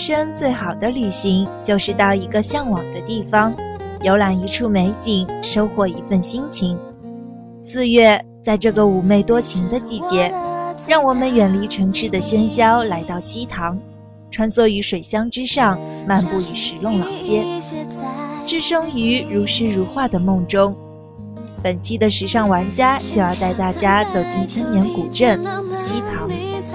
生最好的旅行，就是到一个向往的地方，游览一处美景，收获一份心情。4月，在这个妩媚多情的季节，让我们远离城市的喧嚣，来到西塘，穿梭于水乡之上，漫步于石弄老街，置身于如诗如画的梦中。本期的时尚玩家就要带大家走进千年古镇西塘。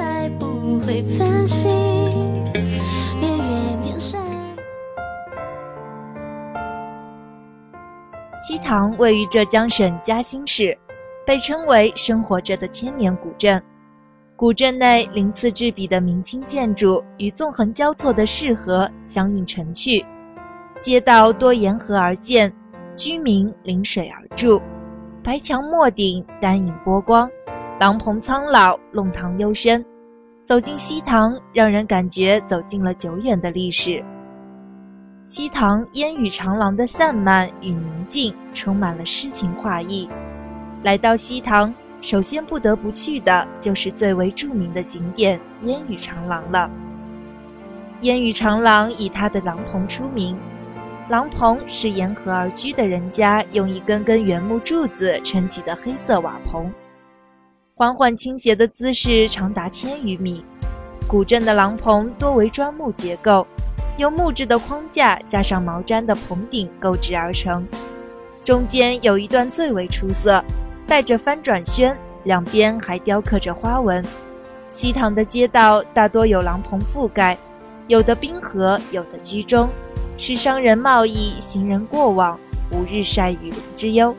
西塘位于浙江省嘉兴市，被称为生活着的千年古镇。古镇内鳞次栉比的明清建筑与纵横交错的市河相映成趣，街道多沿河而建，居民临水而住，白墙墨顶，丹影波光，廊棚苍老，弄堂幽深。走进西塘，让人感觉走进了久远的历史。西塘烟雨长廊的散漫与宁静，充满了诗情画意。来到西塘，首先不得不去的就是最为著名的景点烟雨长廊了。烟雨长廊以它的廊棚出名，廊棚是沿河而居的人家用一根根原木柱子撑起的黑色瓦棚，缓缓倾斜的姿势长达1000余米。古镇的廊棚多为砖木结构，由木质的框架加上毛毡的棚顶构制而成。中间有一段最为出色，带着翻转轩，两边还雕刻着花纹。西塘的街道大多有廊棚覆盖，有的滨河，有的居中，是商人贸易，行人过往，无日晒雨淋之忧。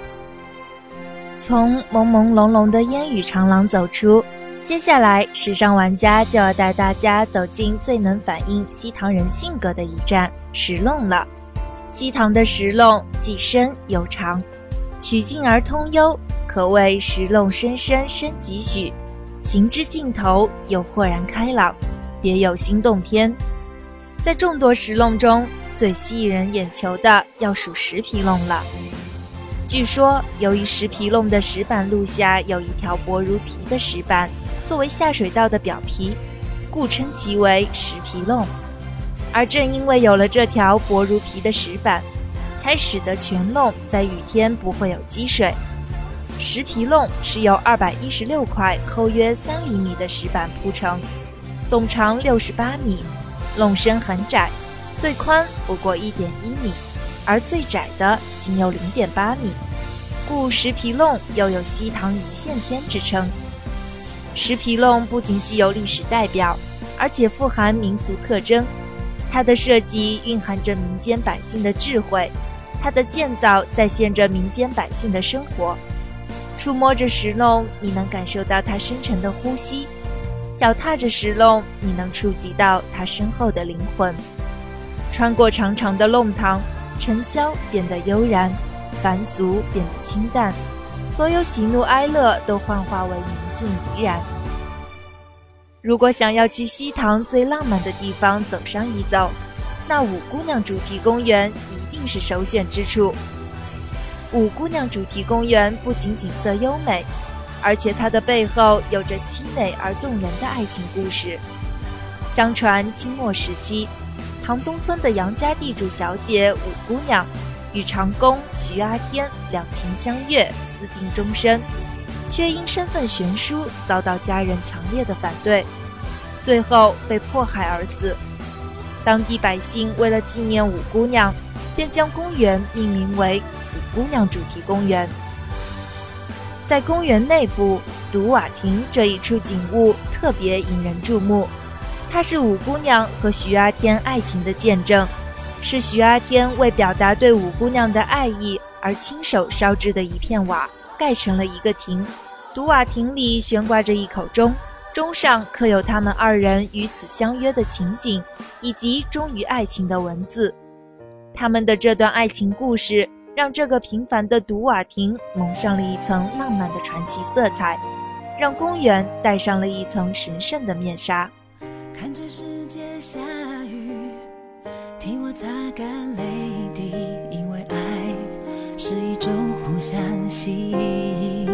从朦朦胧胧的烟雨长廊走出，接下来时尚玩家就要带大家走进最能反映西塘人性格的一站石弄了。西塘的石弄既深又长，曲径而通幽，可谓石弄深深深几许，行之尽头又豁然开朗，别有心洞天。在众多石弄中，最吸引人眼球的要数石皮弄了。据说由于石皮弄的石板路下有一条薄如皮的石板作为下水道的表皮，故称其为石皮弄。而正因为有了这条薄如皮的石板，才使得全弄在雨天不会有积水。石皮弄是由216块厚约3厘米的石板铺成，总长68米，弄身很窄，最宽不过1.1米，而最窄的仅有0.8米，故石皮弄又有西塘一线天之称。石皮弄不仅具有历史代表，而且富含民俗特征。它的设计蕴含着民间百姓的智慧，它的建造再现着民间百姓的生活。触摸着石弄，你能感受到它深沉的呼吸；脚踏着石弄，你能触及到它身后的灵魂。穿过长长的弄堂，尘嚣变得悠然，凡俗变得清淡，所有喜怒哀乐都幻化为宁静怡然。如果想要去西塘最浪漫的地方走上一走，那五姑娘主题公园一定是首选之处。五姑娘主题公园不仅景色优美，而且它的背后有着凄美而动人的爱情故事。相传清末时期，塘东村的杨家地主小姐五姑娘与长工徐阿天两情相悦，私定终身，却因身份悬殊遭到家人强烈的反对，最后被迫害而死。当地百姓为了纪念五姑娘，便将公园命名为五姑娘主题公园。在公园内部，独瓦亭这一处景物特别引人注目，它是五姑娘和徐阿天爱情的见证，是徐阿天为表达对五姑娘的爱意而亲手烧制的一片瓦，盖成了一个亭。独瓦亭里悬挂着一口钟，钟上刻有他们二人于此相约的情景，以及忠于爱情的文字。他们的这段爱情故事，让这个平凡的独瓦亭蒙上了一层浪漫的传奇色彩，让公园戴上了一层神圣的面纱。 看着世界下雨，替我擦干泪滴，因为爱是一种互相吸引。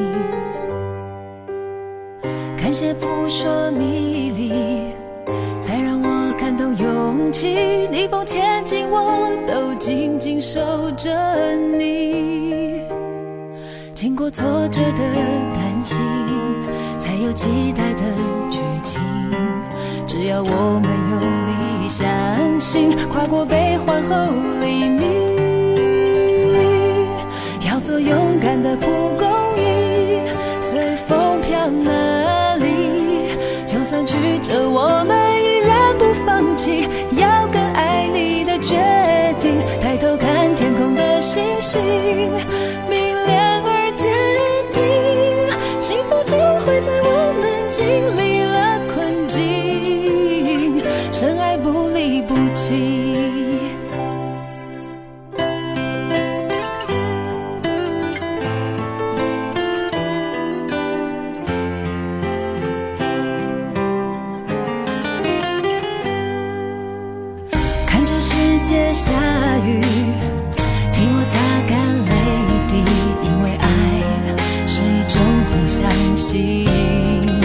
看些扑朔迷离，才让我看懂永气，逆风前进，我都紧紧守着你。经过挫折的担心，才有期待的剧情。只要我们用力相信，跨过悲欢后黎明。要做勇敢的蒲公英，随风飘哪里？就算曲折，我们依然不放弃。要更爱你的决定，抬头看天空的星星，明亮而坚定。幸福就会在我们经历了困境，深爱不离不弃。看着世界下雨，替我擦干泪滴，因为爱是一种互相吸引。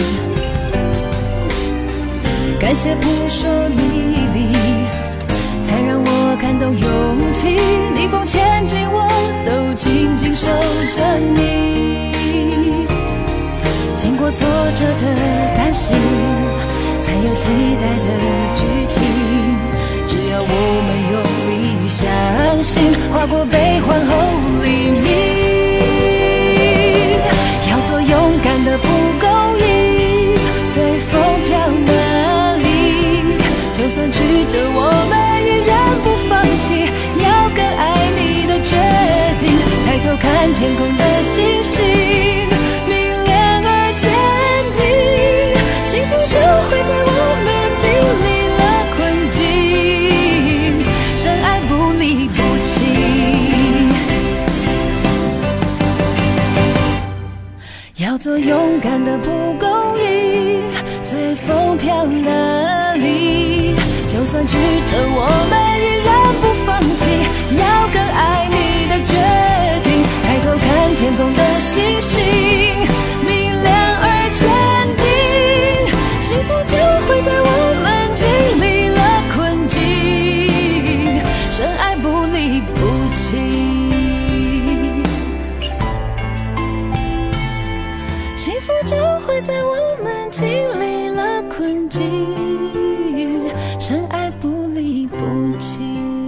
感谢扑朔迷离，才让我看懂勇气。逆风前进，我都紧紧守着你。经过挫折的担心，才有期待的剧情。只要我们用力相信，跨过悲欢后黎明。要做勇敢的蒲公英，随风飘哪里？就算曲折，我们依然不放弃。要更爱你的决定，抬头看天空的星星，明亮而坚定。幸福就会在我们经历了困境，深爱不离不弃。要做勇敢的蒲公英，随风飘哪里？就算曲折，我们依然不放弃。要更爱你的决定，抬头看天空的星星，明亮而坚定。幸福就会在我们经历了困境，深爱不离不弃。幸福就会在我们经历了困境，深爱不离不弃。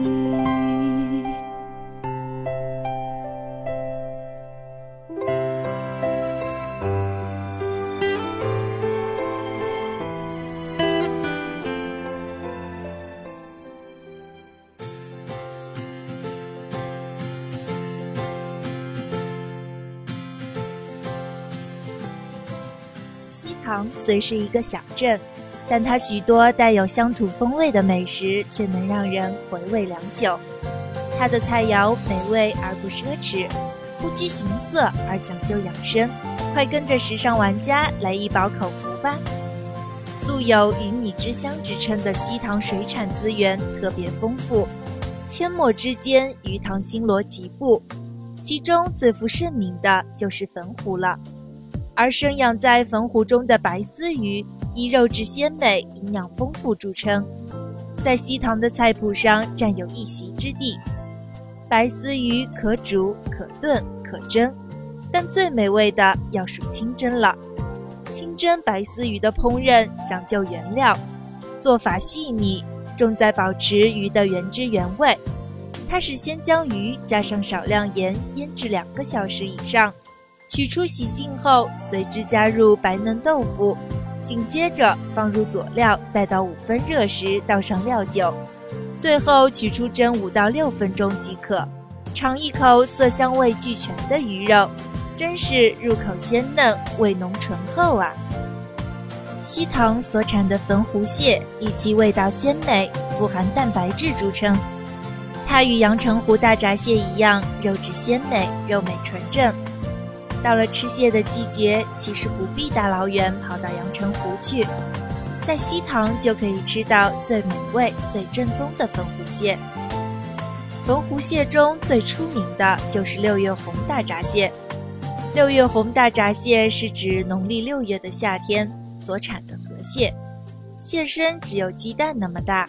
西塘虽是一个小镇，但它许多带有乡土风味的美食却能让人回味良久。它的菜肴美味而不奢侈，不拘形色而讲究养生。快跟着时尚玩家来一饱口福吧！素有鱼米之乡之称的西塘水产资源特别丰富，阡陌之间鱼塘星罗棋布，其中最负盛名的就是汾湖了。而生养在汾湖中的白丝鱼以肉质鲜美、营养丰富著称，在西塘的菜谱上占有一席之地。白丝鱼可煮、可炖、可蒸，但最美味的要数清蒸了。清蒸白丝鱼的烹饪讲究原料，做法细腻，重在保持鱼的原汁原味。它是先将鱼加上少量盐腌制2个小时以上，取出洗净后，随之加入白嫩豆腐，紧接着放入佐料，待到5分热时倒上料酒，最后取出蒸5到6分钟即可。尝一口色香味俱全的鱼肉，真是入口鲜嫩，味浓醇厚啊！西塘所产的汾湖蟹以其味道鲜美、富含蛋白质著称。它与阳澄湖大闸蟹一样，肉质鲜美，肉美纯正。到了吃蟹的季节，其实不必大老远跑到阳澄湖去，在西塘就可以吃到最美味、最正宗的汾湖蟹。汾湖蟹中最出名的就是6月红大闸蟹。6月红大闸蟹是指农历6月的夏天所产的河蟹，蟹身只有鸡蛋那么大，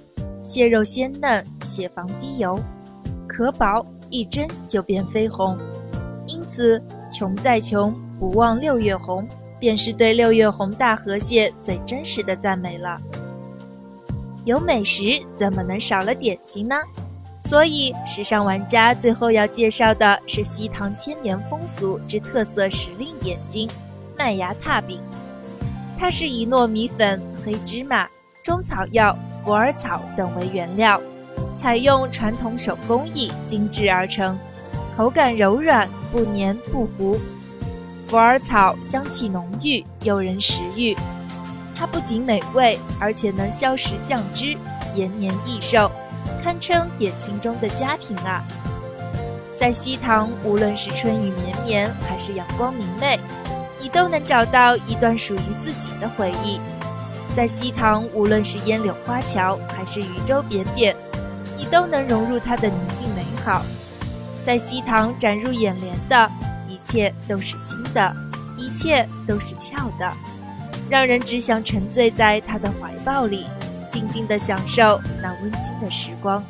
蟹肉鲜嫩，蟹房滴油，可饱一蒸就变绯红。因此，穷再穷，不忘六月红，便是对六月红大河蟹最真实的赞美了。有美食，怎么能少了点心呢？所以，时尚玩家最后要介绍的是西塘千年风俗之特色时令点心——麦芽踏饼。它是以糯米粉、黑芝麻、中草药、虎耳草等为原料，采用传统手工艺精制而成，口感柔软，不黏不糊。虎耳草香气浓郁，诱人食欲。它不仅美味，而且能消食降脂，延年益寿，堪称点心中的佳品啊！在西塘，无论是春雨绵绵，还是阳光明媚，你都能找到一段属于自己的回忆。在西塘，无论是烟柳花桥，还是渔舟扁扁，你都能融入它的宁静美好。在西塘展入眼帘的，一切都是新的，一切都是俏的，让人只想沉醉在他的怀抱里，静静地享受那温馨的时光。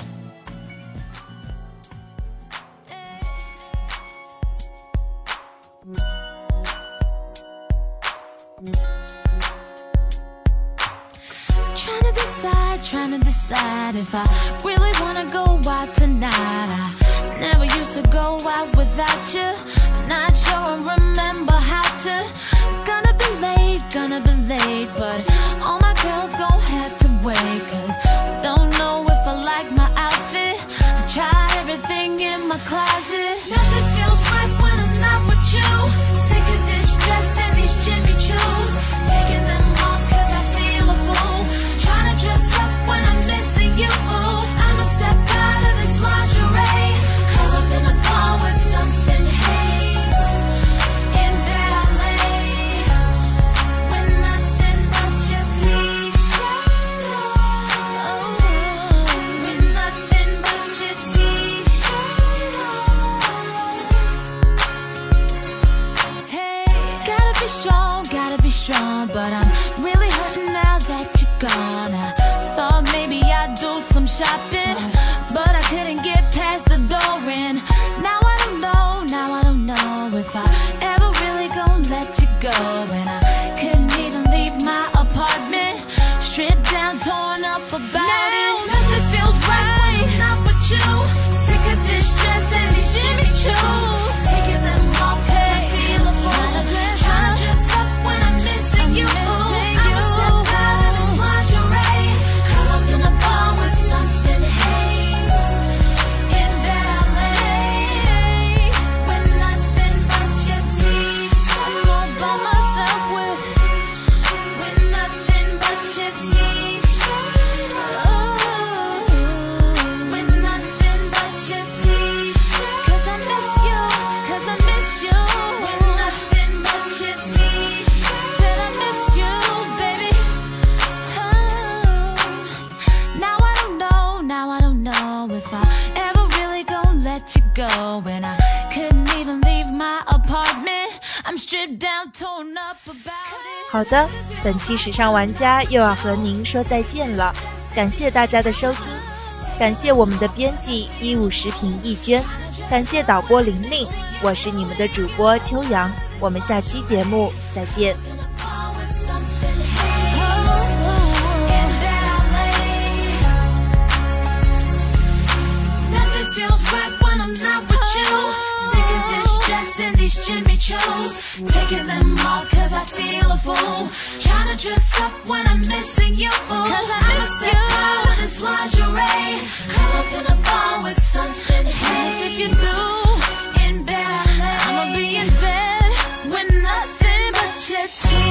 Trying to decide if I really wanna go out tonight. I never used to go out without you. I'm not sure I remember how to. Gonna be late, but all my girls gon' have to wait, 'cause I don't know if I like my outfit. I tried everything in my closet. Nothing feels right when I'm not with you. Sick of this dress and these Jimmy Choos. Taking them off 'cause I feel a fool. Trying to dress up when I'm missing you. I'ma step out of this lingerie, curl up in a bar with something haze. In bed I lay with nothing but your t-shirt on. With nothing but your t-shirt on. Hey, gotta be strong, but I'm really hurting now that you're gone. I thought maybe I'd do some shopping, but I couldn't get past the door, and now I don't know if I ever really gon' let you go. And I couldn't even leave my apartment, stripped down, torn up about it. Nothing feels right when I'm not with you. Sick of this dress and these Jimmy Choos. Taking them off 'cause I feel a fool. Trying to dress up when I'm missing you. I'ma step out of this lingerie, curl up in a bar with something haze. In bed I lay with nothing but your t-shirt. I'm all by myself with nothing but your t-shirt. With nothing but your t-shirt. 'Cause I miss you. With nothing but your t-shirt. Said I miss you, baby. Now I don't know if I ever really gon' let you go. And I couldn't even leave my apartment. I'm stripped down, torn up about it. 好的，本期时尚玩家又要和您说再见了，感谢大家的收听，感谢我们的编辑15食品易娟，感谢导播玲玲，我是你们的主播秋阳，我们下期节目再见。 These Jimmy Choos, taking them off 'cause I feel a fool. Trying to dress up when I'm missing you, 'cause I miss you. Out of this lingerie, curl up in a bar with something haze. If you do, in bed I lay. I'ma be in bed with nothing but your tears.